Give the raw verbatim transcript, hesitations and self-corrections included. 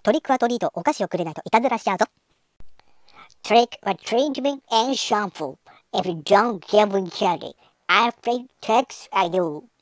トリックはトリート、お菓子をくれないといたずらしちゃうぞ。 Trick or treatment and shampoo. If you don't give me candy, I'll play tricks I do.